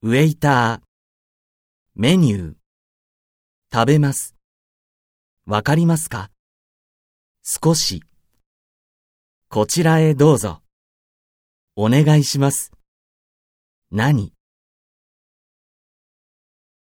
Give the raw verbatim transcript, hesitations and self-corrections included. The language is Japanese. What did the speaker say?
ウェイター、メニュー、食べます。わかりますか？少し。こちらへどうぞ。お願いします。何？